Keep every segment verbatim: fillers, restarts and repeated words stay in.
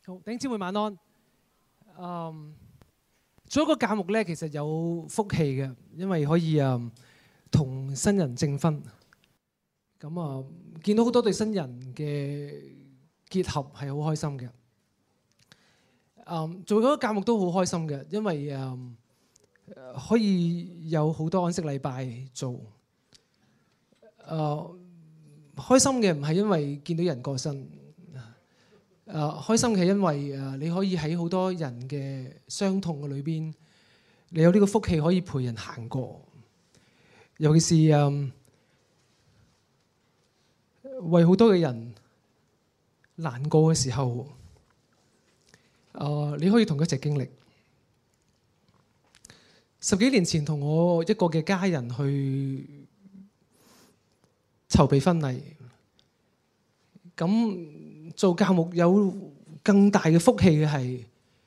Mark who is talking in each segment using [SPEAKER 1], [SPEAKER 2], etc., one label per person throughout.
[SPEAKER 1] 好，弟兄姊妹晚安。嗯，做一個教牧咧，其實有福氣嘅，因為可以啊同新人證婚。咁啊，見到好多對新人嘅結合係好開心嘅。嗯，做嗰個教牧都好開心嘅，因為嗯可以有好多安息禮拜做。誒、呃，開心嘅唔係因為見到人過身。誒、uh, 開心嘅係因為誒、uh, 你可以喺好多人嘅傷痛嘅裏邊，你有呢個福氣可以陪人行過。尤其是誒、uh, 為好多嘅人難過嘅時候，誒、uh, 你可以同佢一齊經歷。十幾年前同我一個嘅家人去籌備婚禮，咁。做教牧有更大嘅福氣嘅係，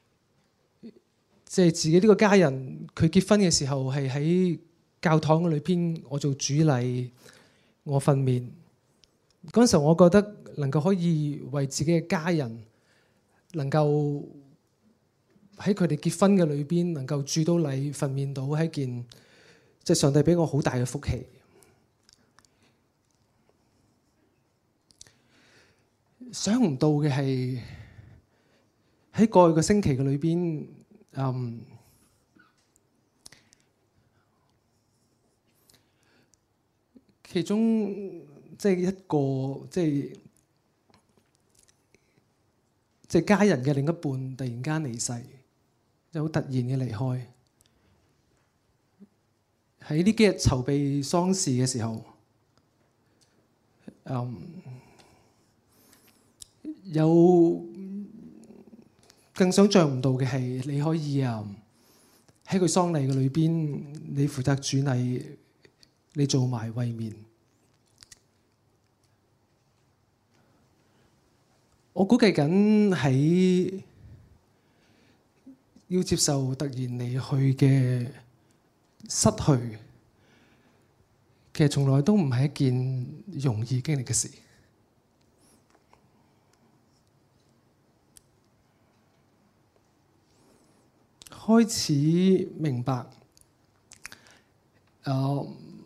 [SPEAKER 1] 即係自己呢個家人佢結婚嘅時候係喺教堂嘅裏邊，我做主禮，我訓勉。嗰陣時候我覺得能夠可以為自己嘅家人能夠喺佢哋結婚嘅裏邊能夠主到禮訓勉到，係一件即係上帝俾我好大嘅福氣。想唔到嘅係喺過去個星期嘅裏邊，嗯，其中即係一個即係即係家人嘅另一半突然間離世，就好突然嘅離開。喺呢幾日籌備喪事嘅時候，嗯。有更想象唔到嘅係，你可以啊喺佢喪禮嘅裏邊，你負責主禮，你做埋慰勉。我估計緊喺要接受突然離去嘅失去，其實從來都唔係一件容易經歷嘅事。開始明白，誒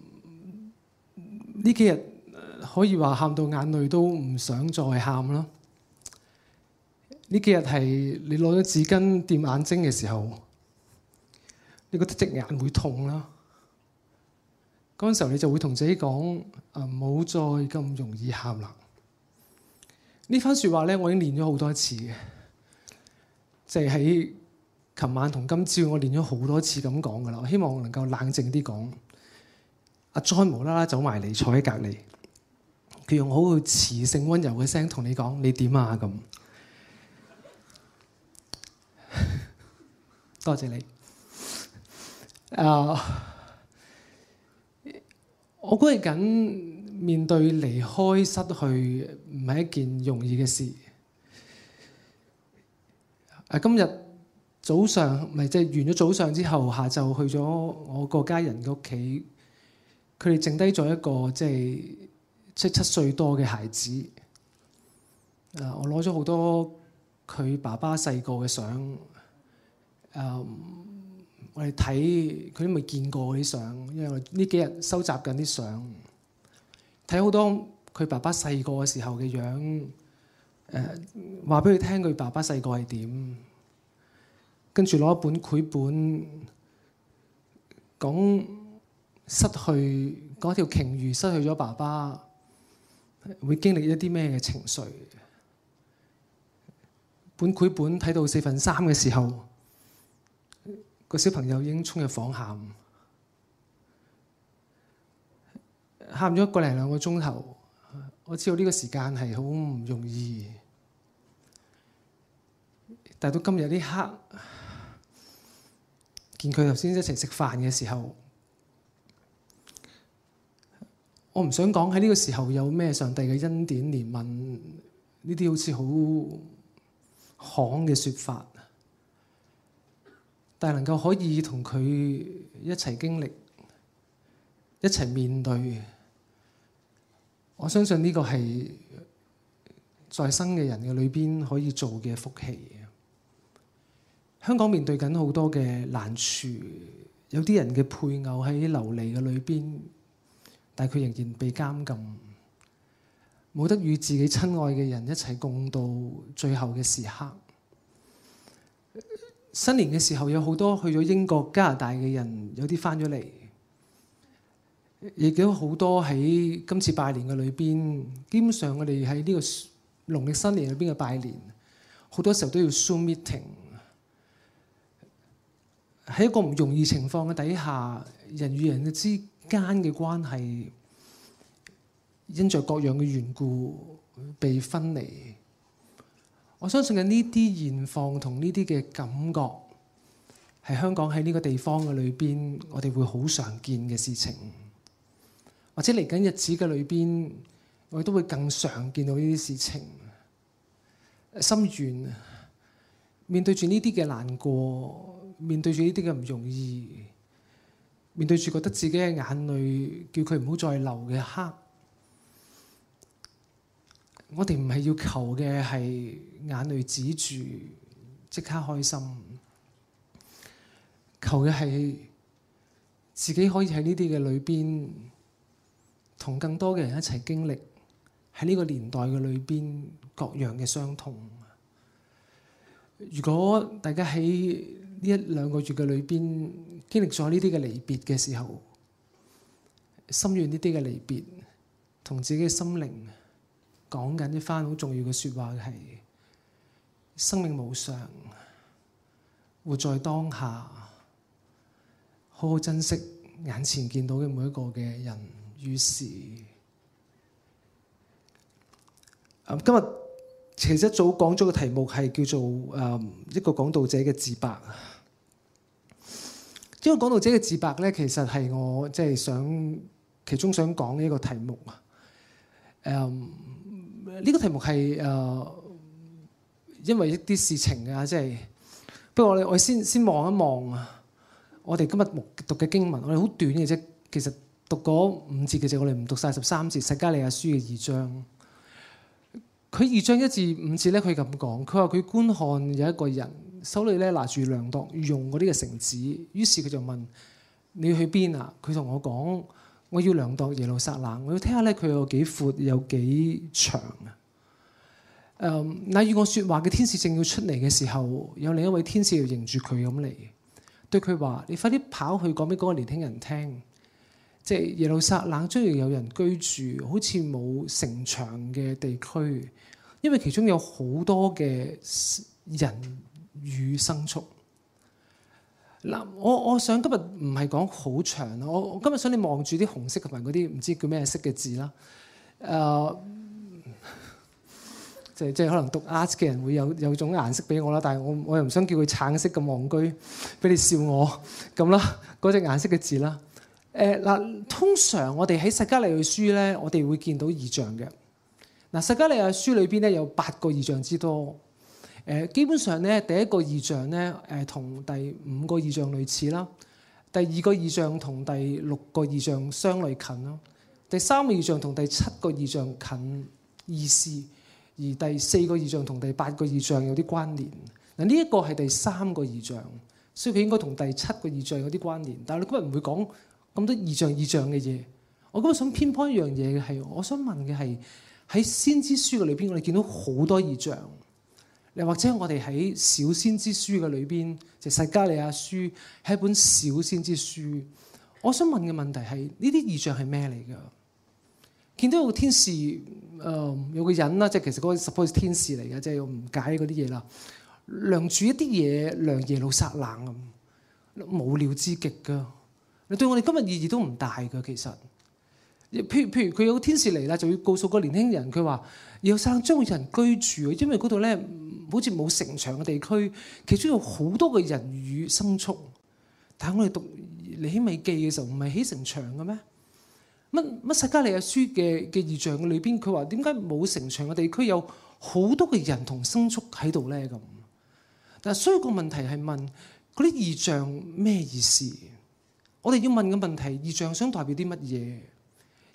[SPEAKER 1] 呢幾日可以話喊到眼淚都唔想再喊啦。呢幾日係你攞咗紙巾掂眼睛嘅時候，你覺得隻眼會痛啦。嗰陣時候你就會同自己講：誒唔好再咁容易喊啦。呢番説話咧，我已經練咗好多次嘅，就係喺琴晚同今朝我練咗好多次咁講噶啦，我希望我能夠冷靜啲講。阿 John 無啦啦走埋嚟坐喺隔離，佢用好磁性溫柔嘅聲同你講：你點啊？咁多謝你。Uh, 我估計緊面對離開失去唔係一件容易嘅事。啊，今日早上咪即係完咗早上之後，下晝去咗我個家人嘅屋企，佢哋剩低咗一個即係即係七歲多嘅孩子。誒，我攞咗好多佢爸爸細個嘅相。誒，我哋睇佢都未見過啲相，因為我呢幾日收集緊啲相，睇好多佢爸爸細個嘅時候嘅樣。誒，話俾佢聽佢爸爸細個係點。跟住攞一本繪本，講失去，講條鯨魚失去咗爸爸，會經歷一啲咩嘅情緒？本繪本睇到四分三嘅時候，個小朋友已經衝入房喊，喊咗一個零兩個鐘頭。我知道呢個時間係好唔容易，但到今日呢刻，見佢頭先一齊食飯嘅時候，我唔想講喺呢個時候有咩上帝嘅恩典憐憫，呢啲好似好行嘅説法，但係能夠可以同佢一齊經歷，一齊面對，我相信呢個係在生嘅人嘅裏邊可以做嘅福氣。香港面對緊好多嘅難處，有啲人嘅配偶喺流離嘅裏邊，但係佢仍然被監禁，冇得與自己親愛嘅人一齊共度最後嘅時刻。新年嘅時候有好多去咗英國、加拿大嘅人，有啲返咗嚟，亦都好多喺今次拜年嘅裏邊。基本上我哋喺呢個農曆新年裏邊嘅拜年，好多時候都要 Zoom meeting。喺一個唔容易情況嘅底下，人與人嘅之間嘅關係，因着各樣嘅緣故被分離。我相信嘅呢啲現況同呢啲嘅感覺，係香港喺呢個地方嘅裏邊，我哋會好常見嘅事情。或者嚟緊日子嘅裏邊，我哋都會更常見到呢啲事情。心願面對住呢啲嘅難過。面對住呢啲嘅唔容易，面對住覺得自己嘅眼淚叫佢唔好再流嘅刻，我哋唔係要求嘅係眼淚止住即刻開心，求嘅係自己可以喺呢啲嘅裏邊，同更多嘅人一齊經歷喺呢個年代嘅裏邊各樣嘅傷痛。如果大家喺呢一兩個月嘅裏邊經歷咗呢啲嘅離別嘅時候，心願呢啲嘅離別，同自己嘅心靈講緊一番好重要嘅説話，係生命無常，活在當下，好好珍惜眼前見到嘅每一個嘅人與事。嗯，今日其實一早講咗個題目係叫做誒、嗯、一個講道者嘅自白。呢個講道者嘅自白咧，其實係我即係想其中想講嘅一個題目啊。誒、嗯、呢、這個題目係誒、呃、因為一啲事情啊，即係不過我哋我先先望一望啊。我哋今日讀嘅經文，我哋好短嘅啫。其實讀嗰五節嘅啫，我哋唔讀晒十三節。撒迦利亞書嘅二章。佢二章一至五節咧，佢咁講，佢話佢觀看有一個人手裏咧拿住量度用嗰啲嘅繩子，於是佢就問：你要去邊啊？佢同我講：我要量度耶路撒冷，我要睇下咧佢有幾闊，有幾長啊！誒，那與我説話嘅天使正要出嚟嘅時候，有另一位天使要迎住佢咁嚟，對佢話：你快啲跑去講俾嗰個年輕人聽，即係耶路撒冷將要有人居住，好似冇城牆嘅地區。因為其中有好多嘅人與牲畜。嗱，我我想今日唔係講好長，我我今日想你望住啲紅色同埋嗰啲唔知叫咩色嘅字啦。誒、呃，即係即係可能讀 art 嘅人會有有種顏色俾我啦，但係我我又唔想叫佢橙色咁戇居，俾你笑我咁啦。嗰隻顏色嘅字啦。誒嗱，通常我哋喺撒迦利亞書咧，我哋會見到異象嘅。嗱，撒迦利亞書裏邊咧有八個異象之多。誒，基本上咧，第一個異象咧，誒同第五個異象類似啦。第二個異象同第六個異象相類近咯。第三個異象同第七個異象近意思，而第四個異象同第八個異象有啲關聯。嗱，呢一個係第三個異象，所以佢應該同第七個異象有啲關聯。但係你今日唔會講咁多異象異象嘅嘢。我今日想偏頗一樣嘢嘅係，我想問嘅係。喺先知書嘅裏邊，我哋見到好多異象。又或者我哋喺小先知書嘅裏邊，就撒迦利亞書係一本小先知書。我想問嘅問題係：呢啲異象係咩嚟㗎？見到有個天使，誒、呃、有個人啦，即係其實嗰個 suppose 天使嚟嘅，即係我唔解嗰啲嘢啦。量住一啲嘢，量耶路撒冷咁，無聊之極㗎。你對我哋今日意義都唔大㗎，其實。譬如譬如佢有個天使嚟啦，就要告訴個年輕人，佢話耶路撒冷將會有人居住，因為嗰度咧好似冇城牆嘅地區，其中有好多嘅人與牲畜。但係我哋讀尼希米記嘅時候，唔係起城牆嘅咩？乜乜撒迦利亞書嘅嘅異象嘅裏邊，佢話點解冇城牆嘅地區有好多嘅人同牲畜喺度咧？咁，但係所以個問題係問嗰啲異象咩意思？我哋要問嘅問題，異象想代表啲乜嘢？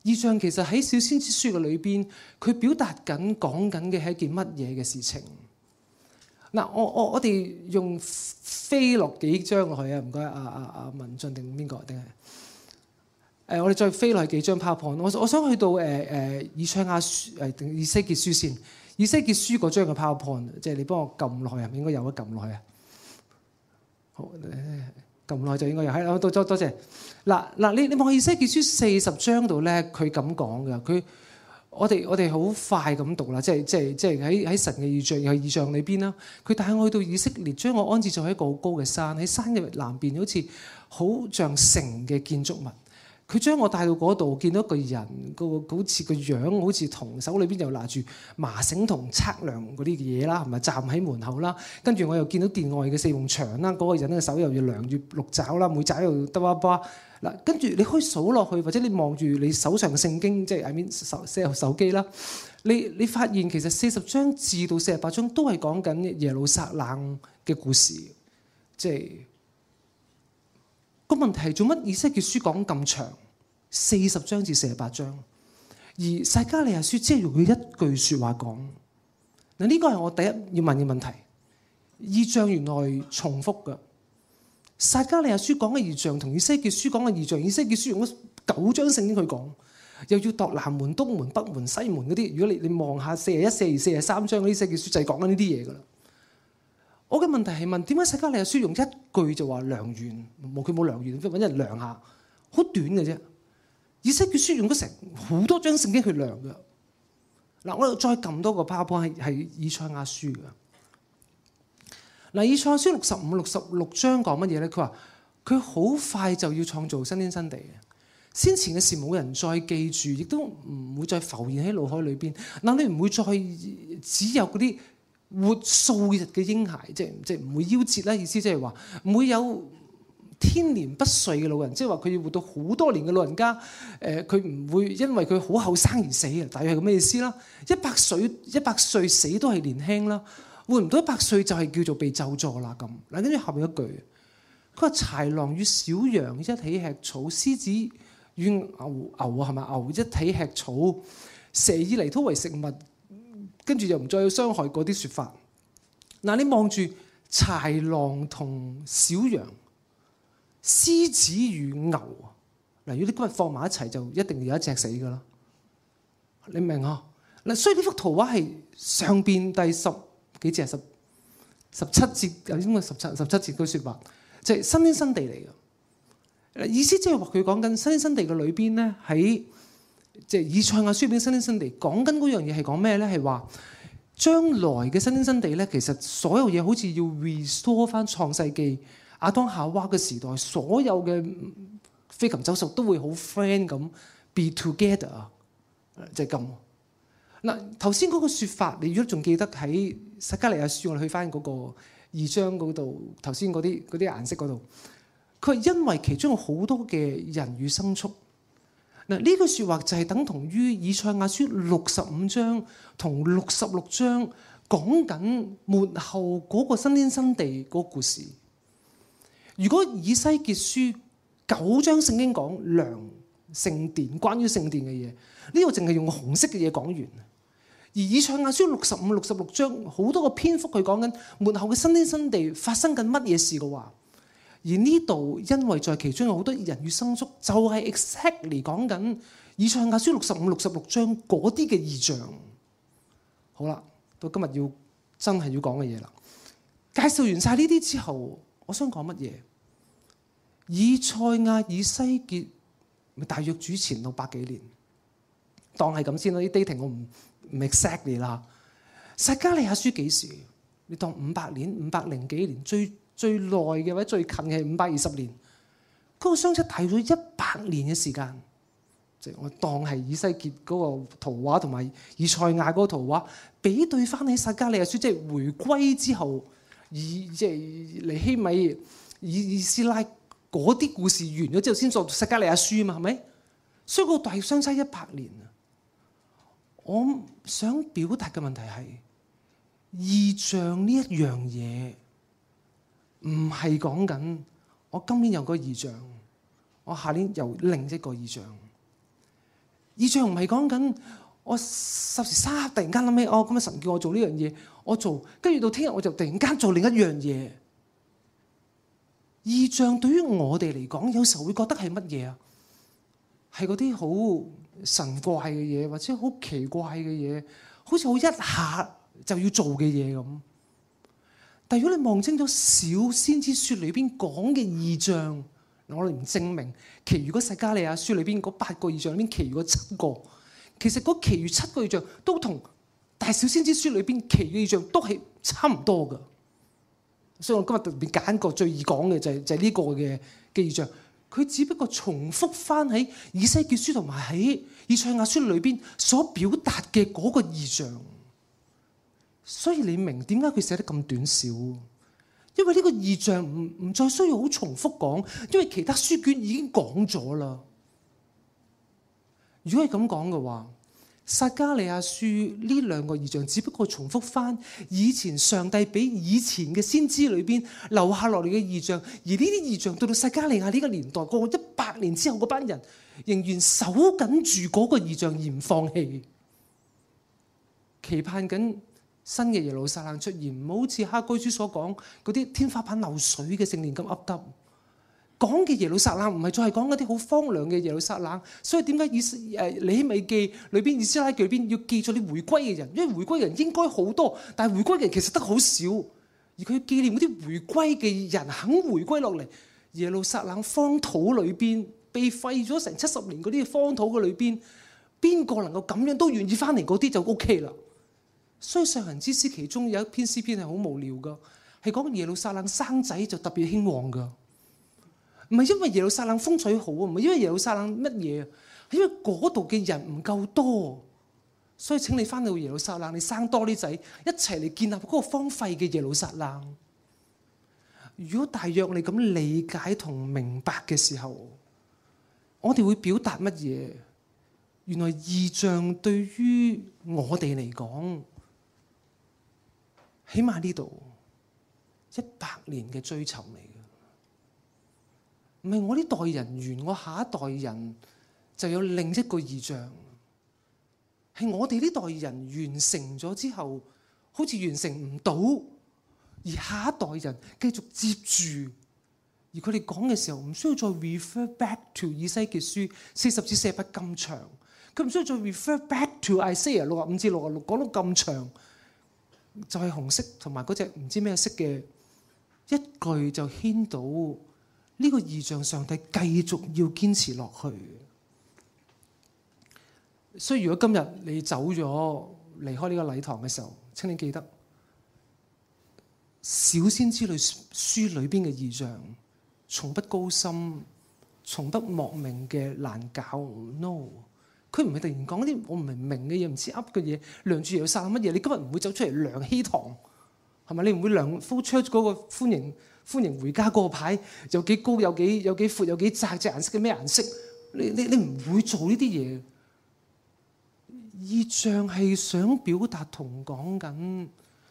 [SPEAKER 1] 異象其實喺小先知書嘅裏邊，佢表達緊講緊嘅係一件乜嘢嘅事情？嗱，我我我哋用飛落幾張落去啊！唔該，阿阿阿文進定邊個定係誒？我哋再飛落去幾張 PowerPoint。我我想去到誒誒以賽亞書誒定以西結書先。以西結書嗰張嘅 PowerPoint，即係你幫我撳落去啊！應該有得撳落去啊！好，撳落去就應該有。係，多多多謝。嗱嗱，你你望以西結書四十章度咧，佢咁講嘅。佢我哋我哋好快咁讀啦，即係即係即係喺喺神嘅異象又係異象裏邊啦。佢帶我去到以色列，將我安置在一個好高嘅山，喺山嘅南邊，好似好像城嘅建築物。佢將我帶到嗰度，見到一個人，個好似個樣，好似銅手裏邊又拿住麻繩同測量嗰啲嘢啦，係咪站喺門口啦？跟住我又見到殿外嘅四面牆啦，嗰、那個人嘅手又要量住六爪啦，每爪又得巴巴嗱。跟住你可以數落去，或者你望住你手上嘅聖經，即係 I mean 手手手機啦。你你發現其實四十章至到四十八章都係講緊耶路撒冷嘅故事，即係。個問題係做乜以西結書講咁長，四十章至四十八章，而撒迦利亞書只係用佢一句説話講。嗱，呢個係我第一要問嘅問題。異象原來重複嘅，撒迦利亞書講嘅異象同以西結書講嘅異象，以西結書用咗九章聖經去講，又要度南門、東門、北門、西門嗰啲。如果你你望下四十一、四十二、四十三章嗰啲以西結書就係講緊呢啲嘢㗎啦。我嘅問題係問點解撒迦利亞書用一句就話量完，冇佢冇量完，揾人量下，好短嘅啫。以西結書用咗成好多張聖經去量嘅。嗱，我再撳多個 PowerPoint 係係以賽亞書嘅。嗱，以賽亞書六十五、六十六章講乜嘢咧？佢話佢好快就要創造新天新地嘅，先前嘅事冇人再記住，亦都唔會再浮現喺腦海裏邊。嗱，你唔會再只有嗰啲活數日嘅嬰孩，即係即係唔會夭折啦。意思即係話唔會有天年不遂嘅老人，即係話佢要活到好多年嘅老人家。誒，佢唔會因為佢好後生而死嘅，大約係咁嘅意思啦。一百歲一百歲死都係年輕啦，活唔到一百歲就係叫做被咒詛啦咁。嗱，跟住後面一句，佢話豺狼與小羊一起吃草，獅子與牛牛啊係咪牛一起吃草，蛇以泥土為食物。跟住又唔再有傷害嗰啲説法。嗱，你望住豺狼同小羊、獅子與牛，嗱，如果你今日放埋一齊，就一定有一隻死噶啦。你明啊？嗱，所以呢幅圖畫係上邊第十幾節、十十七節有啲咁嘅十七十七節嘅説法，就係新天新地嚟嘅。意思即係話佢講緊新天新地嘅裏邊咧，喺即係以賽亞書邊新天新地講緊嗰樣嘢係講咩咧？係話將來嘅新天新地咧，其實所有嘢好似要 restore 翻創世記亞當夏娃嘅時代，所有嘅飛禽走獸都會好 friend 咁 be together，就係咁。嗱，頭先嗰個説法，你如果仲記得喺撒迦利亞書，我哋去翻嗰個二章嗰度，頭先嗰啲嗰啲顏色嗰度，佢係因為其中有好多嘅人與牲畜。嗱，呢句説話就係等同於以賽亞書六十五章同六十六章講緊末後嗰個新天新地嗰個故事。如果以西結書九章聖經講量聖殿，關於聖殿嘅嘢，呢個淨係用紅色嘅嘢講完。而以賽亞書六十五、六十六章好多個篇幅佢講緊末後嘅新天新地發生緊乜嘢事嘅話。而呢度因為在其中有好多人與牲畜，就係 exactly 講緊以賽亞書六十五、六十六章嗰啲嘅異象。好啦，到今日要真係要講嘅嘢啦。介紹完晒呢啲之後，我想講乜嘢？以賽亞、以西結，大約主前六百幾年，當係咁先啦。啲 dating 我唔唔 exactly 啦。撒迦利亞書幾時？你當五百年、五百零幾年最。最耐嘅或者最近嘅係五百二十年，嗰、那個相差大咗一百年嘅時間。即、就、係、是、我當係以西結嗰個圖畫同埋以賽亞嗰個圖畫比對翻喺撒迦利亞書，即係回歸之後，以即係尼希米、以以斯拉嗰啲故事完咗之後，先作撒迦利亞書啊嘛，係咪？所以個大相差一百年啊！我想表達嘅問題係異象呢一樣嘢。唔係講緊我今年有個異象，我下年又另一個異象。 異象唔係講緊我十時三刻突然間諗起，哦咁啊神叫我做呢樣嘢，我做，跟住到聽日我就突然間做另一樣嘢。異象對於我哋嚟講，有時候會覺得係乜嘢啊？係嗰啲好神怪嘅嘢，或者好奇怪嘅嘢，好似好一下就要做嘅嘢咁。但如果你望清楚小先知書裏邊講嘅異象，我哋唔證明其餘嗰撒迦利亞書裏邊嗰八個異象裏邊其餘嗰七個，其實嗰其餘七個異象都同大小先知書裏邊其餘異象都係差唔多噶。所以我今日特別揀個最易講嘅就係就係呢個嘅嘅異象，佢只不過重複翻喺以西結書同埋喺以賽亞書裏邊所表達嘅嗰個異象。所以你明點解佢寫得咁短小？因為呢個異象唔唔再需要好重複講，因為其他書卷已經講咗啦。如果係咁講嘅話，撒迦利亞書呢兩個異象只不過重複翻以前上帝俾以前嘅先知裏邊留下落嚟嘅異象，而呢啲異象到到撒迦利亞呢個年代過一百年之後，嗰班人仍然守緊住嗰個異象而唔放棄，期盼緊新嘅耶路撒冷出現，唔好似哈該書所講嗰啲天花板漏水嘅聖殿咁噏噏。講嘅耶路撒冷唔係再係講嗰啲好荒涼嘅耶路撒冷，所以點解以誒尼希米記裏邊、以斯拉記裏邊要記咗啲回歸嘅人？因為回歸嘅人應該好多，但係回歸嘅人其實得好少，而佢要紀念嗰啲回歸嘅人肯回歸落嚟。耶路撒冷荒土裏邊被廢咗成七十年嗰啲荒土嘅裏邊，邊個能夠咁樣都願意翻嚟嗰啲就 O K 啦。所以上行之詩其中有一篇詩篇係好無聊噶，係講耶路撒冷生仔就特別興旺噶。唔係因為耶路撒冷風水好啊，唔係因為耶路撒冷乜嘢啊，係因為嗰度嘅人唔夠多，所以請你翻到耶路撒冷，你生多啲仔，一齊嚟建立嗰個荒廢嘅耶路撒冷。如果大約你咁理解同明白嘅時候，我哋會表達乜嘢？原來異象對於我哋嚟講，起碼呢度一百年嘅追尋嚟。唔係我呢代人完，我下一代人就有另一個異象。係我哋呢代人完成咗之後，好似完成唔到，而下一代人繼續接住，而佢哋講嘅時候唔需要再 refer back to 以西結書四十至四十八咁長，佢唔需要再 refer back to Isaiah 六十五至六十六講到咁長，就係、是、紅色同埋嗰隻唔知咩色嘅一句就牽到。呢個異象，上帝繼續要堅持落去。所以如果今日你走咗離開呢個禮堂嘅時候，請你記得小先知裏書裏邊嘅異象，從不高深，從不莫名嘅難搞。No， 佢唔係突然講啲我唔明明嘅嘢，唔知噏嘅嘢，量住又殺乜嘢？你今日唔會走出嚟量希堂，係咪？你唔會量 flow church 嗰個歡迎。歡迎回家嗰個牌有幾高有幾有幾闊有幾窄，隻顏色嘅咩顏色？你你你唔會做呢啲嘢。異象係想表達同講緊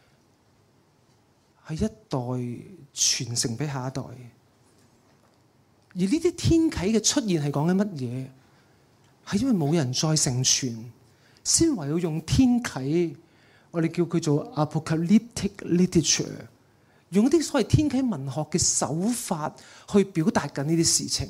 [SPEAKER 1] 係一代傳承俾下一代。而呢啲天啟嘅出現係講緊乜嘢？係因為冇人再承傳，先唯有用天啟，我哋叫佢做 apocalyptic literature。用一啲所謂天啟文學嘅手法去表達緊呢啲事情。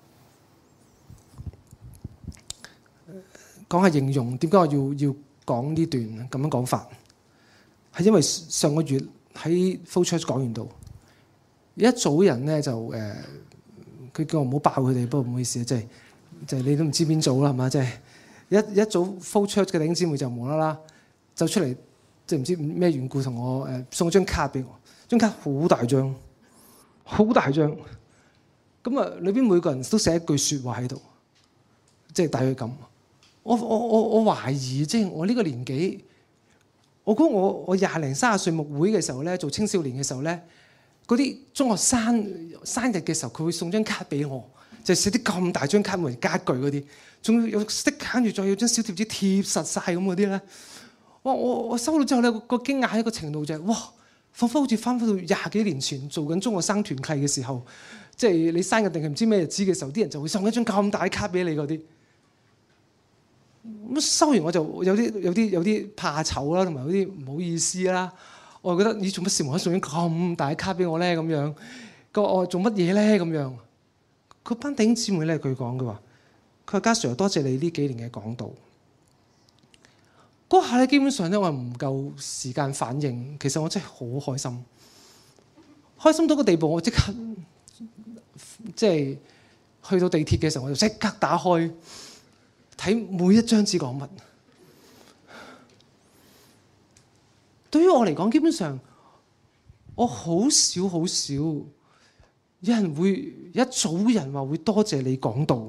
[SPEAKER 1] 講下形容點解我要要講呢段咁樣講法，係因為上個月喺 flow church 講完到，有一組人咧就誒，佢、呃、叫我唔好爆佢哋，不過唔好意思啊，即係即係你都唔知邊組啦，係嘛？即係一一組 flow church 嘅弟兄姊妹就無啦啦走出嚟，即係唔知咩緣故同我誒送張卡俾我。張卡好大張，好大張。咁啊，裏邊每個人都寫一句説話喺度，即係大約咁。我我我我懷疑，即係我呢個年紀，我估我我廿零三十歲牧會嘅時候咧，做青少年嘅時候咧，嗰啲中學生生日嘅時候，佢會送張卡俾我，就寫啲咁大張卡為家具嗰啲，仲有 stick 跟住再有張小貼紙貼實晒咁嗰啲咧。哇！我我收到之後咧，個驚訝一個程度就係、是、哇！彷彿好似翻返到廿幾年前做緊中學生團契嘅時候，即係你生日定係唔知咩日子嘅時候，啲人就會送一張咁大嘅卡俾你嗰啲。 咁收完我就有啲有啲有啲怕醜啦，同埋有啲唔好意思啦。我覺得你做乜事無啦啦送張咁大嘅卡俾我咧？咁樣個我做乜嘢咧？咁樣佢班弟兄姊妹咧，佢講嘅話，佢話家 Sir 多謝你呢幾年嘅講道。嗰下咧，基本上咧我唔夠時間反應。其實我真係好開心，開心到個地步，我即刻即係去到地鐵嘅時候，我就即刻打開睇每一張紙講乜。對於我嚟講，基本上我好少好少有人會一組人話會多謝你講道。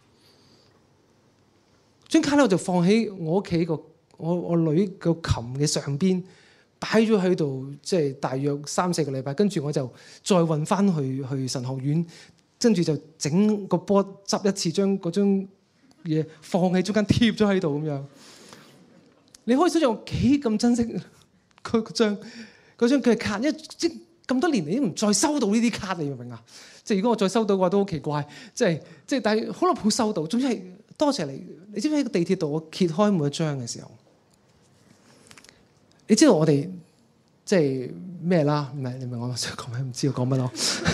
[SPEAKER 1] 張卡咧我就放喺我屋企個我我女個琴嘅上邊，擺咗喺度，即係大約三四個禮拜。跟住我就再運翻去去神學院，跟住就整個波執一次，將嗰張嘢放喺中間貼咗喺度咁樣。你可以想象我幾咁珍惜佢嗰張嗰張佢嘅卡，因為即咁多年嚟都唔再收到呢啲卡，你明唔明啊？即係如果我再收到嘅話，都好奇怪。即係即係，但係好耐冇收到。總之係多謝你。你知唔知喺個地鐵度，我揭開每一張嘅時候，你知道我哋即係咩啦？唔係你明我想講咩？唔知我講乜咯？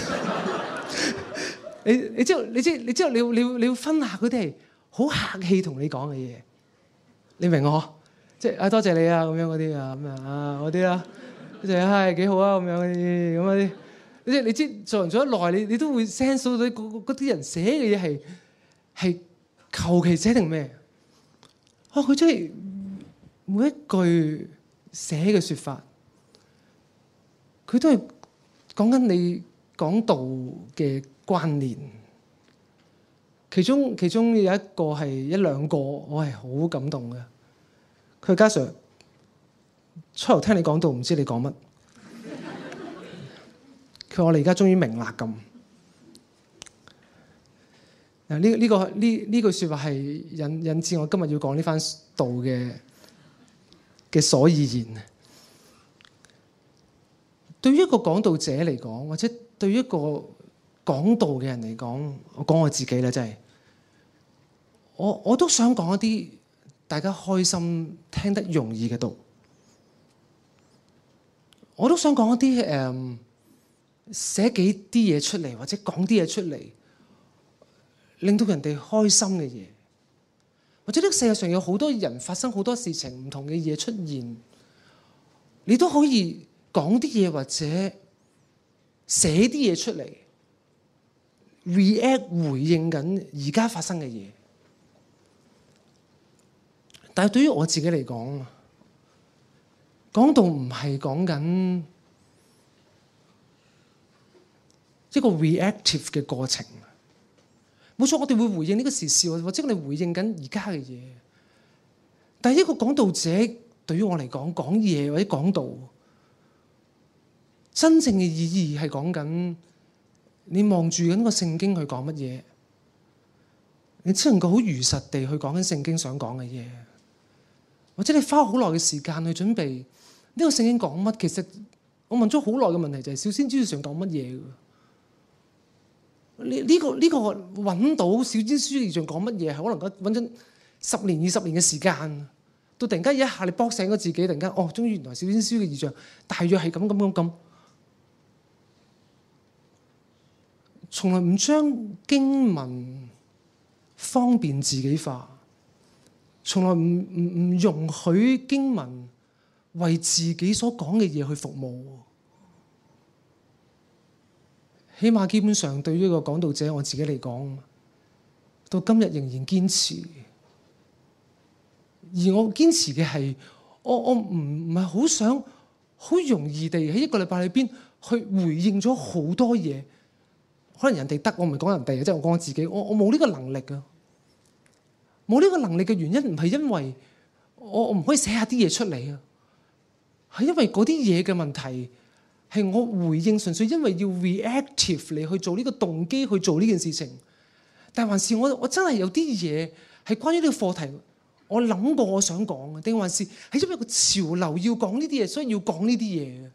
[SPEAKER 1] 你你知道你知你知道你要你要你要分下嗰啲係好客氣同你講嘅嘢，你明我？即係啊多謝你啊咁樣嗰啲啊咁啊啊嗰啲啦，即係係幾好啊咁樣嗰啲咁嗰啲。你知你知做人做得耐，你你都會 sense 到嗰啲人寫嘅嘢係係求其寫定咩？啊佢真係每一句寫嘅説法，佢都係講緊你講道嘅關聯。其中其中有一個係一兩個，我係好感動嘅。佢家 Sir 初頭聽你講道，唔知你講乜。佢話我哋而家終於明啦咁。嗱呢呢個呢呢句説話係引引致我今日要講呢番道嘅嘅所以然。對於一個講道者嚟講，或者對於一個講道嘅人嚟講，我講我自己啦，真係我我都想講一啲大家開心聽得容易嘅道。我都想講一啲誒寫幾啲嘢出嚟，或者講啲嘢出嚟，令到人哋開心嘅嘢。或者呢個世界上有好多人發生好多事情，唔同嘅嘢出現，你都可以講啲嘢或者寫啲嘢出嚟 react 回應緊而家發生嘅嘢。但係對於我自己嚟講，講道唔係講緊一個 reactive 嘅過程。冇錯，我哋會回應呢個時事，或者我哋回應緊而家嘅嘢。但係一個講道者對於我嚟講，講嘢或者講道，真正嘅意義係講緊你望住緊個聖經去講乜嘢，你只能夠好如實地去講緊聖經想講嘅嘢，或者你花好耐嘅時間去準備呢個聖經講乜。其實我問咗好耐嘅問題就係小先知想講乜嘢。呢、這、呢個呢、這個揾到小先知異象講乜嘢，係可能揾緊十年二十年嘅時間，到突然間一下你卜醒咗自己，突然間哦，終於原來小先知嘅異象大約係咁咁咁咁。從來唔將經文方便自己化，從來唔唔唔容許經文為自己所講嘅嘢去服務。起碼基本上對於一個講道者我自己嚟講，到今日仍然堅持。而我堅持嘅係，我我唔唔係好想好容易地喺一個禮拜裏邊去回應咗好多嘢。可能人哋得，我唔係講人哋，即係我講我自己。我我冇呢個能力啊！冇呢個能力嘅原因唔係因為我我唔可以寫下啲嘢出嚟啊，係因為嗰啲嘢嘅問題。係我回應，純粹因為要 reactive 嚟去做呢個動機去做呢件事情，但還是我我真係有啲嘢係關於呢個課題，我諗過我想講嘅，定還是係因為個潮流要講呢啲嘢，所以要講呢啲嘢嘅。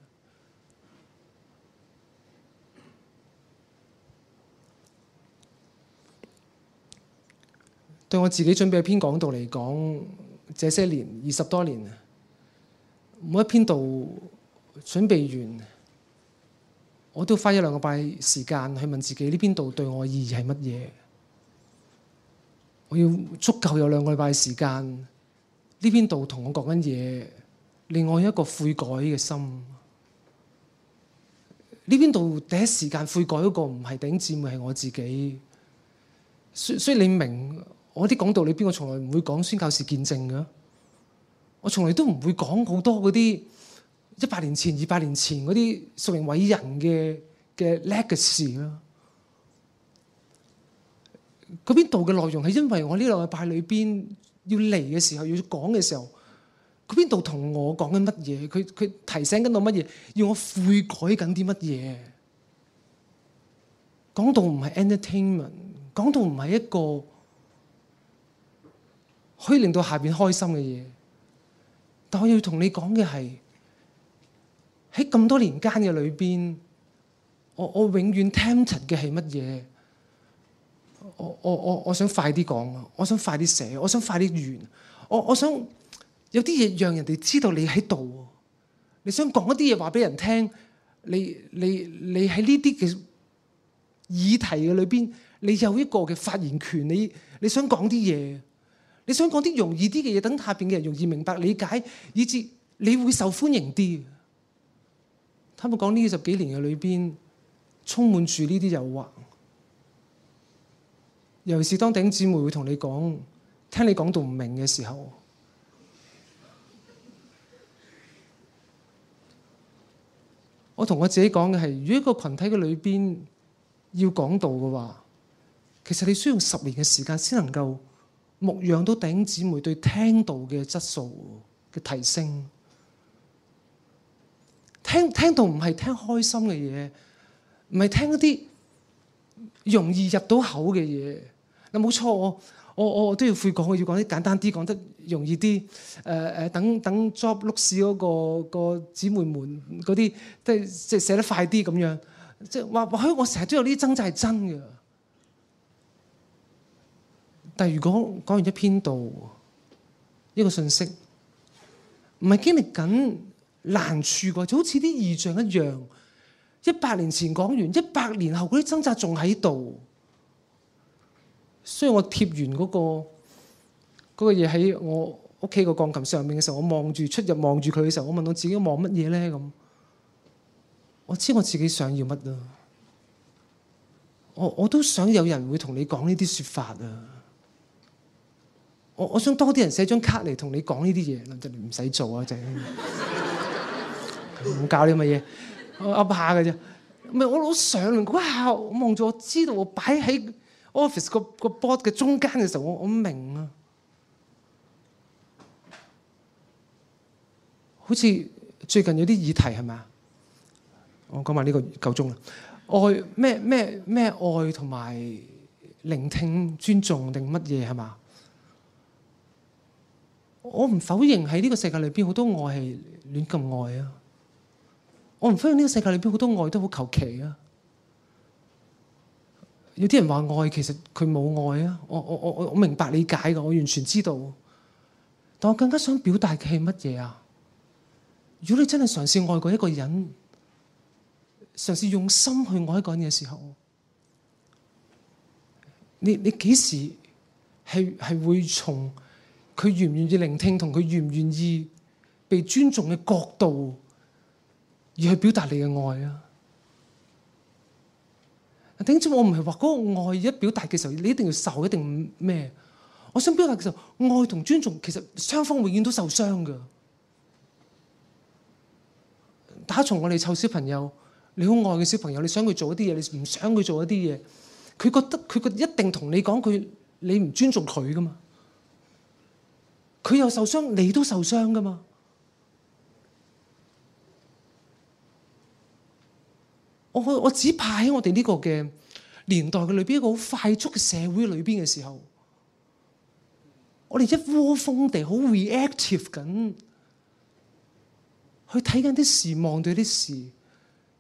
[SPEAKER 1] 對我自己準備一篇講道嚟講，這些年二十多年，每一篇道準備完，我都花一兩個拜時間去問自己呢篇道對我意義係乜嘢。我要足夠有兩個禮拜時間，呢篇道同我講緊嘢，令我有一個悔改嘅心。呢邊度第一時間悔改嗰個唔係弟兄姊妹，係我自己。所以，所以你明我啲講道裏邊，我從來唔會講宣教士見證嘅。我從來都唔會講好多嗰啲一百年前、二百年前嗰啲屬靈偉人嘅嘅 legacy 啦。嗰邊度嘅內容係因為我呢兩個禮拜裏邊要嚟嘅時候，要講嘅時候。嗰邊度同我講緊乜嘢？佢佢提醒緊我乜嘢？要我悔改緊啲乜嘢？講道唔係 entertainment， 講道唔係一個可以令到下邊開心嘅嘢。但我要同你講嘅係喺咁多年間嘅裏邊，我我永遠 tempted 嘅係乜嘢？我我我我想快啲講，我想快啲寫，我想快啲完，我我想。有啲嘢讓人哋知道你喺度，你想講一啲嘢話俾人聽，你你你喺呢啲嘅議題嘅裏邊，你有一個嘅發言權，你你想講啲嘢，你想講啲容易啲嘅嘢，等下邊嘅人容易明白理解，以至你會受歡迎啲。坦白講，呢十幾年嘅裏邊，充滿住呢啲誘惑，尤其是當弟兄姊妹會同你講，聽你講到唔明嘅時候。我同我自己講嘅係，如果一個群體嘅裏邊要講道嘅話，其實你需要十年嘅時間先能夠牧養到弟兄姊妹對聽道嘅質素嘅提升。聽聽道唔係聽開心嘅嘢，唔係聽一啲容易入到口嘅嘢。嗱，冇錯，我我我都要悔講，我要講啲簡單啲，講得容易啲。誒、呃、誒，等等 job 碌屎嗰個個姊妹們嗰啲，即係即係寫得快啲咁樣。即係話或許我成日都有呢啲掙扎係真嘅。但係如果講完一篇道，一個信息，唔係經歷緊難處嘅，就好似啲異象一樣。一百年前講完，一百年後嗰啲掙扎仲喺度。所以我貼完嗰個嗰個嘢喺我屋企個鋼琴上面嘅時候，我望住出入望住佢嘅時候，我問我自己望乜嘢咧？咁我知我自己想要乜啊！我我都想有人會同你講呢啲説法啊！我我想多啲人寫張卡嚟同你講呢啲嘢，就唔使做啊！就唔教你乜嘢，我噏下嘅啫。唔係我攞上嚟嗰下，我望住我知道我擺喺 office 個個 board 嘅中間嘅時候，我我明啊，好似最近有啲議題係咪啊？我講埋呢個夠鐘啦。愛咩咩咩愛同埋聆聽尊重定乜嘢係嘛？我唔否認喺呢個世界裏邊好多愛係亂咁愛啊！我唔否認呢個世界裏邊好多愛都好求其啊！有啲人話愛，其實佢冇愛啊！我我我我明白理解㗎，我完全知道。但我更加想表達嘅係乜嘢啊？如果你真係嘗試愛過一個人，嘗試用心去愛一個人嘅時候，你你幾時係係會從佢願唔願意聆聽同佢願唔願意被尊重嘅角度而去表達你嘅愛啊？頂住我唔係話嗰個愛一表達嘅時候，你一定要受，一定咩？我想表達嘅時候，愛同尊重其實雙方永遠都受傷㗎。打從我哋湊小朋友，你好愛嘅小朋友，你想佢做一啲嘢，你唔想佢做一啲嘢，佢覺得佢覺得一定同你講佢，你唔尊重佢㗎嘛？佢又受傷，你都受傷㗎嘛？我我只怕喺我哋呢個嘅年代嘅裏邊，一個好快速嘅社會裏邊嘅時候，我哋一窩蜂地好 reactive 緊，去睇緊啲事，望到啲事，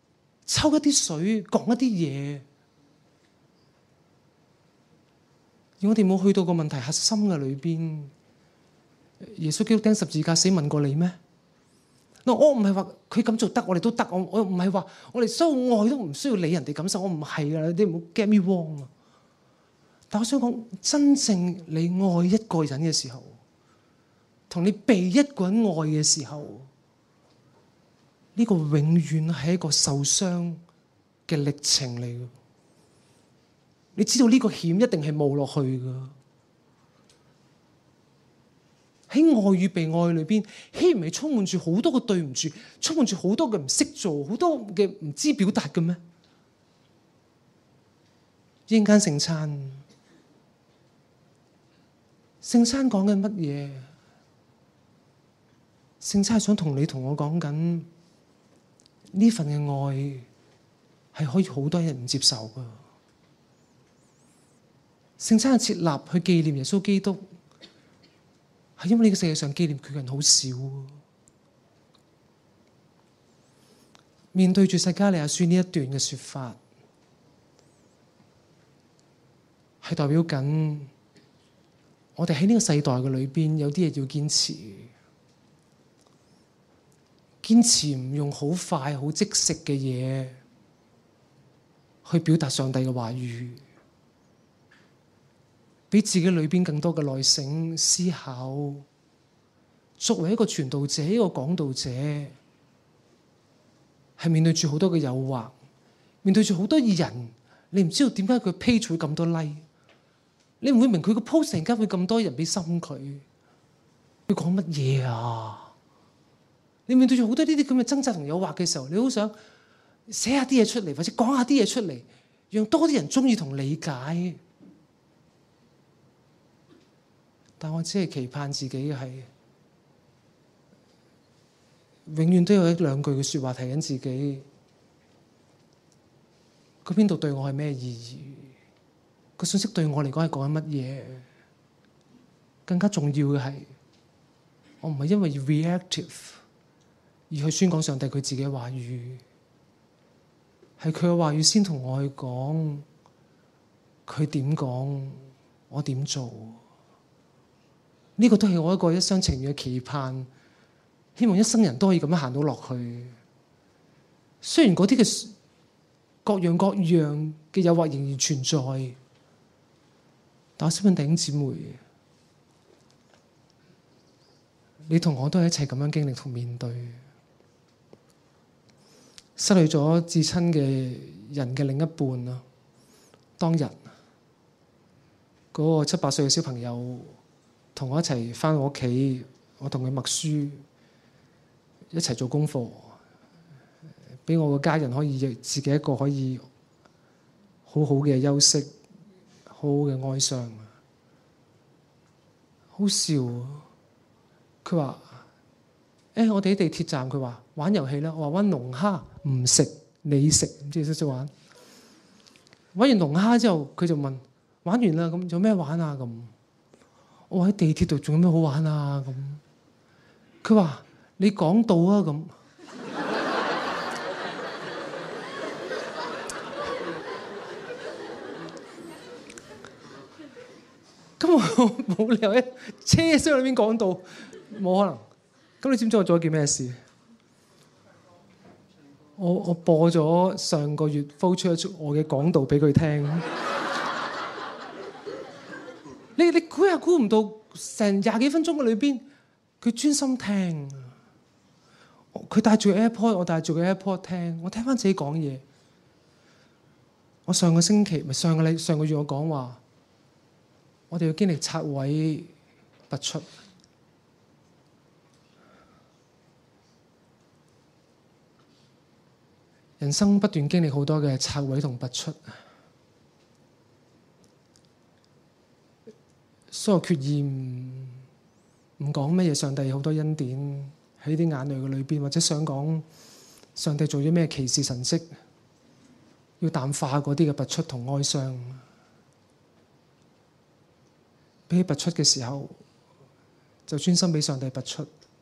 [SPEAKER 1] 抽一啲水，講一啲嘢， 而我哋冇去到個問題核心嘅裏邊。耶穌基督釘十字架死問過你咩？嗱，我唔係話佢咁做得，我哋都得。我我唔係話我哋所有愛都唔需要理人哋感受，我唔係噶，你唔好 get me wrong 啊！但我想講，真正你愛一個人嘅時候，同你被一個人愛嘅時候，呢個永遠係一個受傷嘅歷程嚟嘅。你知道呢個險一定係冒落去㗎。喺愛與被愛裏邊，豈唔係充滿住好多嘅對唔住，充滿住好多嘅唔識做，好多嘅唔知表達嘅咩？一陣間聖餐，聖餐講緊乜嘢？聖餐係想同你同我講緊呢份嘅愛係可以好多人唔接受㗎。聖餐係設立去紀念耶穌基督。係因為呢個世界上紀念佢嘅人好少。面對住撒迦利亞書呢一段嘅說法，係代表緊我哋喺呢個世代嘅裏邊有啲嘢要堅持，堅持唔用好快好即食嘅嘢去表達上帝嘅話語。俾自己裏邊更多嘅耐性思考，作為一個傳道者、一個講道者，係面對住好多嘅誘惑，面對住好多人，你唔知道點解佢 page 會咁多 like，你唔會明佢個 post 突然間會咁多人俾心佢，佢講乜嘢啊？你面對住好多呢啲咁嘅掙扎同誘惑嘅時候，你好想寫下啲嘢出嚟，或者講下啲嘢出嚟，讓多啲人中意同理解。但我只係期盼自己係永遠都有一兩句嘅説話提緊自己，佢邊度對我係咩意義？個信息對我嚟講係講緊乜嘢？更加重要嘅係，我唔係因為 reactive 而去宣講上帝佢自己嘅話語，係佢嘅話語先同我去講，佢點講，我點做。呢個都係我一個一廂情願嘅期盼，希望一生人都可以咁樣行到落去。雖然嗰啲嘅各樣各樣嘅誘惑仍然存在，但我希望弟兄姊妹，你同我都係一齊咁樣經歷同面對，失去咗至親嘅人嘅另一半啊！當日嗰個七八歲嘅小朋友，同我一齊返我屋企，我同佢默書，一齊做功課，俾我個家人可以自己一個可以好好嘅休息，好好嘅哀傷。好笑，佢話：誒，我哋喺地鐵站，佢話玩遊戲啦。我話玩龍蝦，唔食你食，唔知識唔識玩？玩完龍蝦之後，佢就問：玩完啦，咁有咩玩啊？咁。我喺地鐵度仲有咩好玩啊？咁佢話你講道啊咁。咁我冇理由喺車廂裏面講道，冇可能。咁你知唔知我做咗件咩事？我我播咗上個月 flow 出我嘅講道俾佢聽。你你估又估唔到，成廿幾分鐘嘅裏邊，佢專心聽。佢帶住 AirPod，我帶住個 AirPod 聽。我聽翻自己講嘢。我上個星期咪上個禮上個月我講話，我哋要經歷拆毀拔出。人生不斷經歷好多嘅拆毀同拔出。所有決意唔唔講乜嘢，上帝有好多恩典喺啲眼淚嘅裏邊，或者想講上帝做咗咩奇事神蹟，要淡化嗰啲嘅拔出同哀傷。俾佢拔出嘅時候，就專心俾上帝拔出，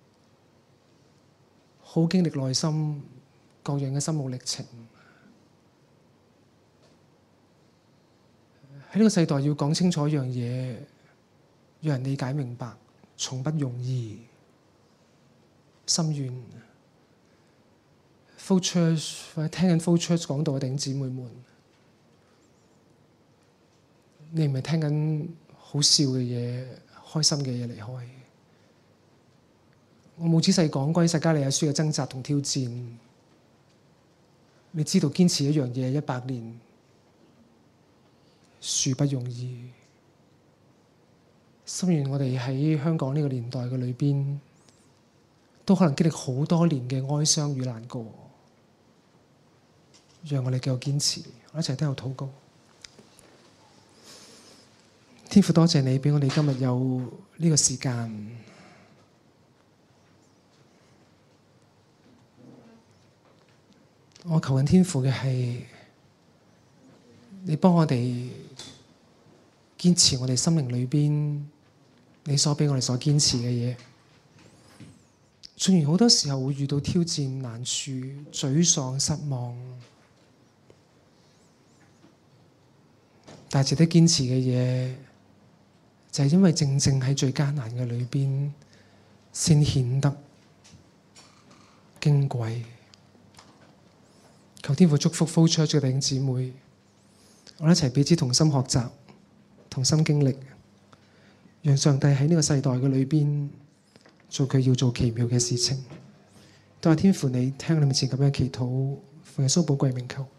[SPEAKER 1] 好經歷內心各樣嘅心路歷程。 喺呢個世代要講清楚一樣嘢，讓人理解明白，從不容易。心願 Flow Church 或者聽緊 Flow Church 講道嘅弟兄姊妹們，你唔係聽緊好笑嘅嘢、開心嘅嘢離開。我冇仔細講關於撒迦利亞書嘅掙扎同挑戰。你知道堅持一樣嘢一百年，殊不容易。心願我哋喺香港呢個年代嘅裏邊，都可能經歷好多年嘅哀傷與難過。讓我哋繼續堅持，我一齊都有禱告。天父，多謝你俾我哋今日有呢個時間。我求緊天父嘅係，你幫我哋堅持我哋心靈裏邊你所俾我哋所堅持嘅嘢。雖然好多時候會遇到挑戰、難處、沮喪、失望，但係值得堅持嘅嘢，就係因為正正喺最艱難嘅裏邊，先顯得矜貴。求天父祝福 Flow Church 嘅弟兄姊妹，我哋一齊彼此同心學習，同心經歷，讓上帝喺呢個世代嘅裏邊做佢要做奇妙嘅事情。多謝天父，你聽你面前咁樣祈禱，奉耶穌寶貴名求。